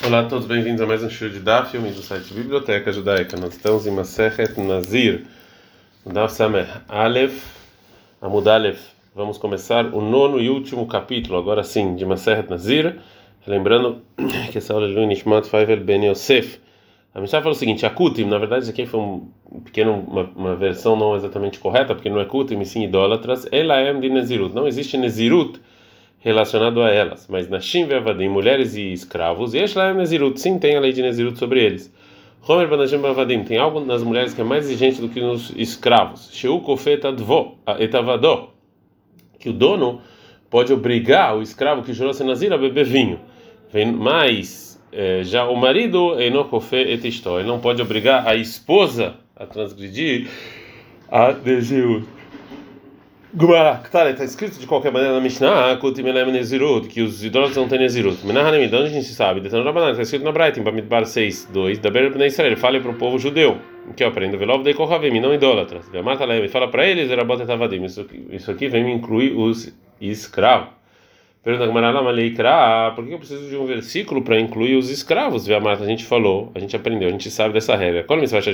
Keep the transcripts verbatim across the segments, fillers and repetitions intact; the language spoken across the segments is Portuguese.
Olá a todos, bem-vindos a mais um show de Daf, filme do site Biblioteca Judaica. Nós estamos em Masechet Nazir, Daf Sameh Aleph, Amud Aleph. Vamos começar o nono e último capítulo, agora sim, de Masechet Nazir. Lembrando que essa aula é do Nishmat Faivel Ben Yosef. A Mishnah fala o seguinte: a Kutim, na verdade, isso aqui foi um pequeno, uma, uma versão não exatamente correta, porque não é Kutim, e sim idólatras. Ela é de Nezirut. Não existe Nezirut relacionado a elas, mas Nashim ve'avadim, mulheres e escravos, e Eshla Nezirut, sim, tem a lei de Nezirut sobre eles. Homer banashim ve'avadim, tem algo nas mulheres que é mais exigente do que nos escravos. Sheu kofet advo, etavadó, que o dono pode obrigar o escravo que jurou ser nazir a beber vinho. Mas é, já o marido enokofe et istó, ele não pode obrigar a esposa a transgredir a Nezirut. Gumara, está escrito de qualquer maneira na Mishnah que os idólatras não têm Nezirut. De onde a gente sabe? Está escrito na Braita, em Bamidbar seis, dois, da Ber Bnei Israel, fale para o povo judeu, que eu aprendo, Velov de Kohavim, não idólatras. Fala para eles, isso aqui vem me incluir os escravos. Pergunta Gumara, por que eu preciso de um versículo para incluir os escravos? A gente falou, a gente aprendeu, a gente sabe dessa regra.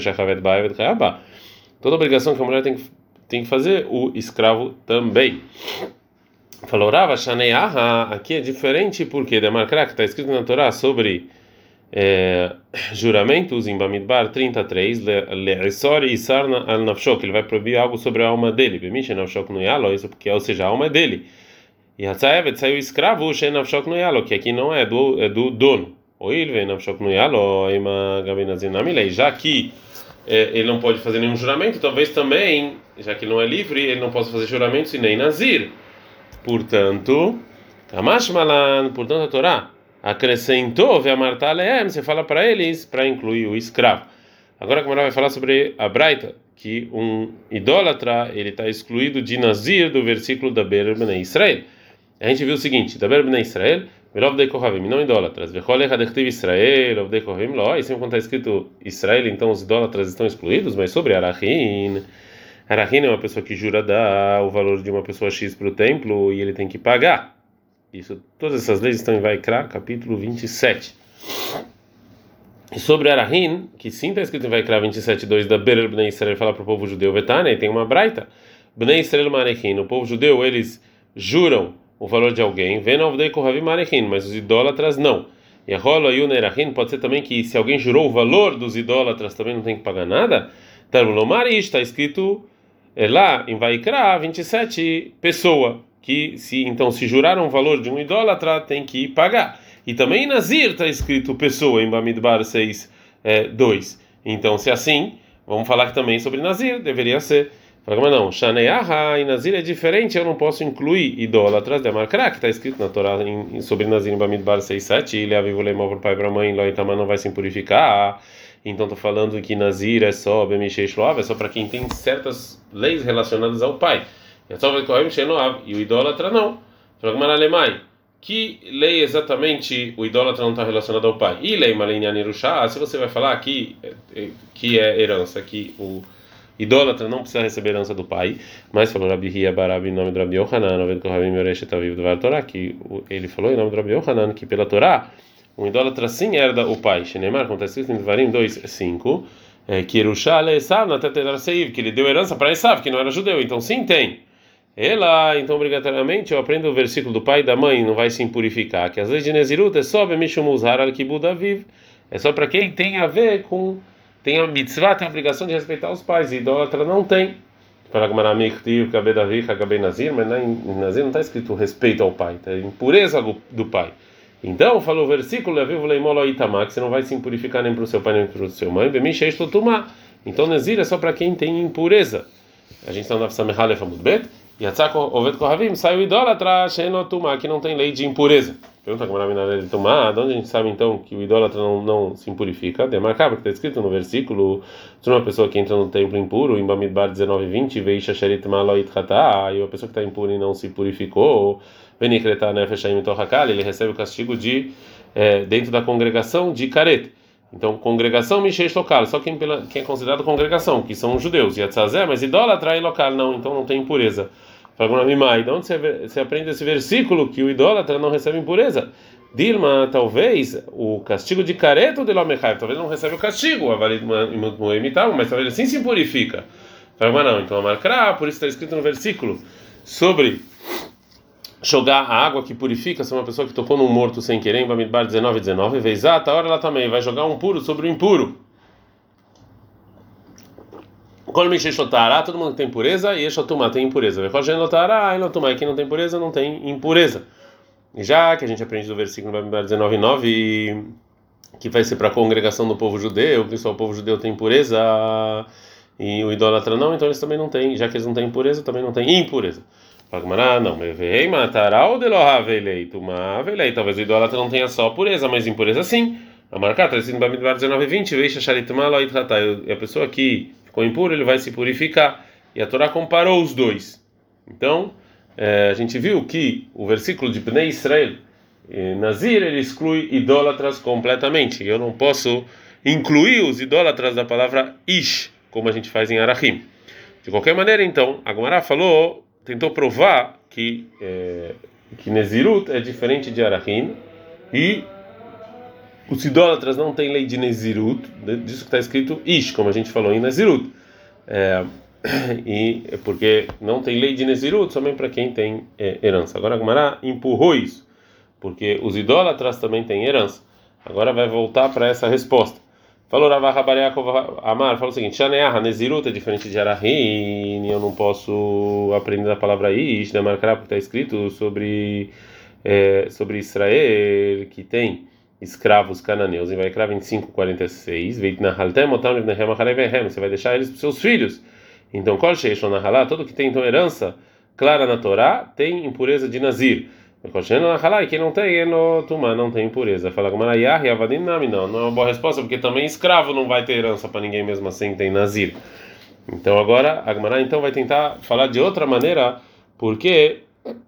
Toda obrigação que a mulher tem que tem que fazer, o escravo também. Falou Rava Shaneaha, aqui é diferente porque de marcar que está escrito na Torá sobre é, juramentos em Bamidbar trinta e três, le'isor e sarna al nafshok, ele vai proibir algo sobre a alma dele. Bemish nafshok no yalo, isso porque, ou seja, a alma é dele. E Hatzaevet saiu escravo, she nafshok no yalo, que aqui não é do é do dono. Ou ele vem nafshok no yalo, ima gabenazinamilei, já que é, ele não pode fazer nenhum juramento, talvez também, já que ele não é livre, ele não possa fazer juramentos e nem nazir. Portanto, Kamash Malan, portanto a Torá acrescentou, você fala para eles para incluir o escravo. Agora a Gemara vai falar sobre a Braita, que um idólatra ele está excluído de nazir do versículo da Ber Bnei Israel. A gente viu o seguinte: da Ber Bnei Israel, Velov de Kohavim, não idólatras. Vecholech adechtiv Israel, Velov de Kohavim, lo. E sempre quando está escrito Israel, então os idólatras estão excluídos. Mas sobre Arachin, Arachin é uma pessoa que jura dar o valor de uma pessoa X para o templo e ele tem que pagar. Isso, todas essas leis estão em Vaikra, capítulo vinte e sete. E sobre Arachin, que sim está escrito em Vaikra vinte e sete, dois, da Ber Bnei Israel, fala para o povo judeu, Vetane, tem uma braita. Bnei Israel Marechin, o povo judeu, eles juram o valor de alguém, mas os idólatras não. E a rola e o nerachin pode ser também que se alguém jurou o valor dos idólatras também não tem que pagar nada. Tarulomari está escrito é, lá em Vaikra vinte e sete, pessoa que se então se juraram o valor de um idólatra tem que pagar. E também em Nazir está escrito pessoa em Bamidbar seis, dois. Então se assim, vamos falar que também sobre Nazir deveria ser. Mas não, Shaneaha e Nazir é diferente, eu não posso incluir idólatras de Markra, que está escrito na Torá em, em, sobre Nazir em Bamidbar seis, sete, ele aviva o leimão para o pai e para a mãe, Loitama não vai se impurificar. Então estou falando que Nazir é só Bemisheish Loav, é só para quem tem certas leis relacionadas ao pai. E o idólatra não. Que lei exatamente o idólatra não está relacionado ao pai? E lei Malinyan Irushá, se você vai falar aqui que é herança, que o idólatra não precisa receber herança do pai, mas falou Rabi Hia Barabi em nome do Rabi Yohanan, que ele falou em nome do Rabi Yohanan que pela Torá um idólatra sim herda o pai. Shenemar, acontece isso em Devarim dois, cinco, que Erushá le Esav na tetelar seiv, que ele deu herança para Esav, que não era judeu, então sim tem. Ela, então obrigatoriamente eu aprendo o versículo do pai e da mãe, não vai se impurificar, que as leis de Nezirut é só Bemishum Uzhar al Kibud Aviv, é só para quem tem a ver com tem a mitzvah, tem a obrigação de respeitar os pais, e idólatra não tem. Fala Nazir, mas em Nazir não está escrito respeito ao pai, está impureza do pai. Então, falou o versículo, que você não vai se impurificar nem para o seu pai nem para o seu mãe. Então, Nazir é só para quem tem impureza. A gente está na Samechalef Amudbet, e Yatzak Oved Kohavim saiu idólatra, que não tem lei de impureza. Pergunta como era a de tomar, de onde a gente sabe então que o idólatra não, não se impurifica? Demarcar, porque está escrito no versículo de uma pessoa que entra no templo impuro, em Bamidbar dezenove, vinte, Veisha Sherit Maloit Hatá, e uma pessoa que está impura e não se purificou, Venikretar Nefeshaim Torhakal, ele recebe o castigo de é, dentro da congregação de Karet. Então, congregação Misheish local, só quem, pela, quem é considerado congregação, que são os judeus, Yatzazé, mas idólatra e local, não, então não tem impureza. Fala, de onde você, você aprende esse versículo que o idólatra não recebe impureza? Dilma, talvez o castigo de careto de Lomechai, talvez não recebe o castigo, mas talvez ele sim se purifica. Fala, mas não, então a marcra, por isso está escrito no versículo sobre jogar a água que purifica, se uma pessoa que tocou num morto sem querer, em Bamidbar dezenove, dezenove, vezata, a hora ela também vai jogar um puro sobre o impuro. Quando me xexotará, todo mundo tem pureza, e exotumá tem impureza. Vejogenotará, e notumá, quem não tem pureza, não tem impureza. Já que a gente aprende do versículo Bamidbar dezenove, nove, que vai ser para a congregação do povo judeu, que só o povo judeu tem pureza e o idólatra não, então eles também não têm, já que eles não têm pureza, também não têm impureza. Fala, não, vem matará o delohavelei, mavelei. Talvez o idólatra não tenha só pureza, mas impureza sim. A marcar, está escrito no Bamidbar dezenove, vinte, veja charitma loit hatá. E a pessoa que ficou impura, ele vai se purificar. E a Torá comparou os dois. Então, é, a gente viu que o versículo de Bnei Israel, Nazir, ele exclui idólatras completamente. Eu não posso incluir os idólatras da palavra ish, como a gente faz em Arachim. De qualquer maneira, então, a Gemara falou, tentou provar que é, que Nezirut é diferente de Arachim e os idólatras não têm lei de Nezirut, disso que está escrito ish, como a gente falou em Nezirut. É, e porque não tem lei de Nezirut somente para quem tem é, herança. Agora a Gemara empurrou isso, porque os idólatras também têm herança. Agora vai voltar para essa resposta. Falou Rav Yaakov Amar, falou o seguinte: Shaneah, Nezirut é diferente de Arachim, eu não posso aprender a palavra ish, da marcar porque está escrito sobre é, sobre Israel que tem escravos cananeus. Em Vaikra vinte e cinco, quarenta e seis, você vai deixar eles para seus filhos. Então, todo que tem então herança clara na Torá tem impureza de Nazir. E quem não tem, não tem impureza. Fala como não, não é uma boa resposta, porque também escravo não vai ter herança para ninguém mesmo assim, tem Nazir. Então agora a Gemara então vai tentar falar de outra maneira, porque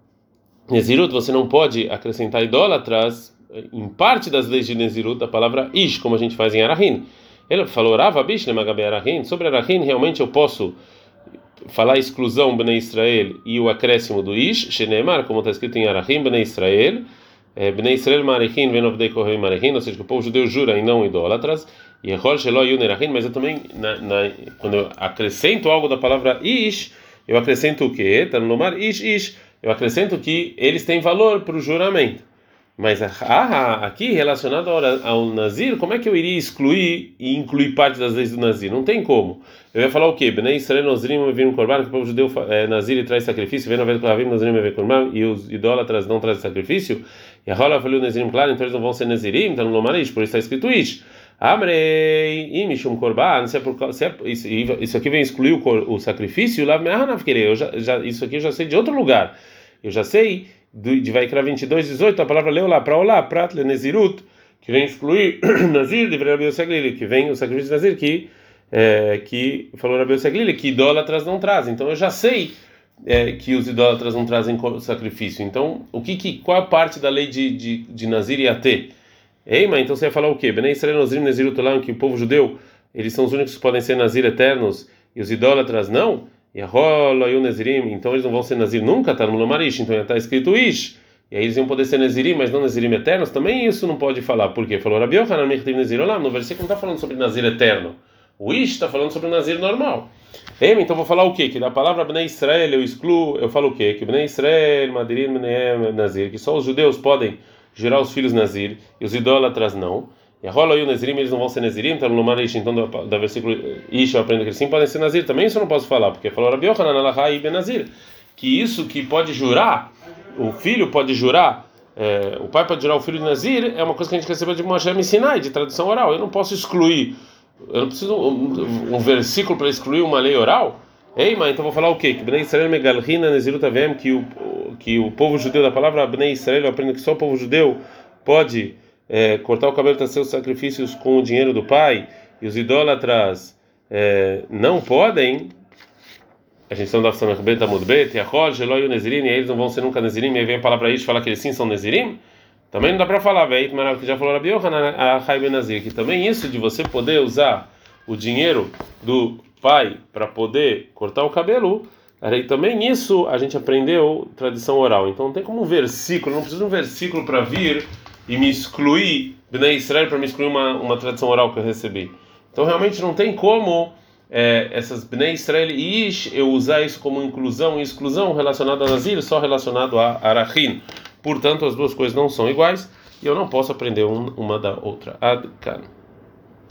Nezirut você não pode acrescentar idólatras em parte das leis de Nezirut da palavra ish, como a gente faz em Arachim. Ele falou Rava Bishne Magabe Arachim, sobre Arachim realmente eu posso falar a exclusão Bnei Israel e o acréscimo do ish, Shenemar, como está escrito em Arachim, Bnei Israel, Bnei Israel Marechim, Venovdei Kohen Marechim, ou seja, que o povo judeu jura e não idólatras, e Echol Shelo Yun Erachim, mas eu também, na, na, quando eu acrescento algo da palavra ish, eu acrescento o quê? Tá no Lomar ish, ish, eu acrescento que eles têm valor para o juramento. Mas ah, aqui relacionado ao Nazir, como é que eu iria excluir e incluir parte das leis do Nazir? Não tem como. Eu ia falar o quê? Bnei Israel Nozrim viram korban, que o povo judeu é, Nazir e traz sacrifício, vem na vez Ravim Nozrim e korban, e os idólatras não trazem sacrifício. E a rola falou Nazrim, claro, então eles não vão ser Nazirim, então não Lomarish, por isso está escrito ish. Amrei imishum korban, se é por se é, isso, isso aqui vem excluir o, o sacrifício, lá eu já, já isso aqui eu já sei de outro lugar. Eu já sei de Vaikra vinte e dois, dezoito, a palavra leu lá para olá, prat le Nezirut, que vem excluir Nazir, de Rabi Yoseglili, que vem o sacrifício de Nazir, que, é, que falou Rabi Yoseglili, que idólatras não trazem. Então eu já sei é, que os idólatras não trazem sacrifício. Então, o que, que, qual a parte da lei de, de, de Nazir ia ter? Ei, mas então você ia falar o quê? Bnei Israel Nozrim Nezirut Olam, que o povo judeu, eles são os únicos que podem ser Nazir eternos, e os idólatras não? E a rola e o Nezirim, então eles não vão ser Nazir nunca, tá no Lomarish, então já está escrito ish, e aí eles iam poder ser Nezirim, mas não Nezirim eternos, também isso não pode falar, por quê? Falou Rabi Yochanan Mechtiv Nezir Olam, no versículo não está falando sobre Nazir eterno, o ish está falando sobre o Nazir normal. Ei, então vou falar o quê? Que da palavra Bnei Israel eu excluo, eu falo o quê? Que Bnei Israel, Madirim, Bnei Nazir, que só os judeus podem gerar os filhos Nazir, e os idólatras não. E a rola e o Nezirim, eles não vão ser Nezirim, então no Lomarish, então da versículo ish eu aprendo que eles sim podem ser Nazir, também isso eu não posso falar, porque falou Rabi Yochanan Alahá e Ben Nazir, que isso que pode jurar, o filho pode jurar, é, o pai pode jurar o filho de Nazir, é uma coisa que a gente recebeu de Moshe Sinai, de tradução oral. Eu não posso excluir, eu não preciso um, um versículo para excluir uma lei oral. Ei, mas então vou falar o quê? Que Bnei Israel Megalhina Nezirut Avem, que o que o povo judeu, da palavra Bnei Israel, eu aprendo que só o povo judeu pode É, cortar o cabelo para seus sacrifícios com o dinheiro do pai, e os idólatras é, não podem. A gente está no Samech Bet Amud Bet, Yachol, Geloi e o Nezirim, e eles não vão ser nunca Nezirim, e aí vem a palavra ish falar que eles sim são Nezirim. Também não dá para falar, velho, mas que já falou Rabi Yochanan a Chai Ben Nazir, que também isso de você poder usar o dinheiro do pai para poder cortar o cabelo, aí também isso a gente aprendeu tradição oral. Então não tem como um versículo, não precisa de um versículo para vir e me excluir Bnei Israel para me excluir uma, uma tradição oral que eu recebi. Então realmente não tem como é, essas Bnei Israel e Ish eu usar isso como inclusão e exclusão relacionado a Nazir, só relacionado a Arachin. Portanto, as duas coisas não são iguais e eu não posso aprender um, uma da outra. Ad Kan.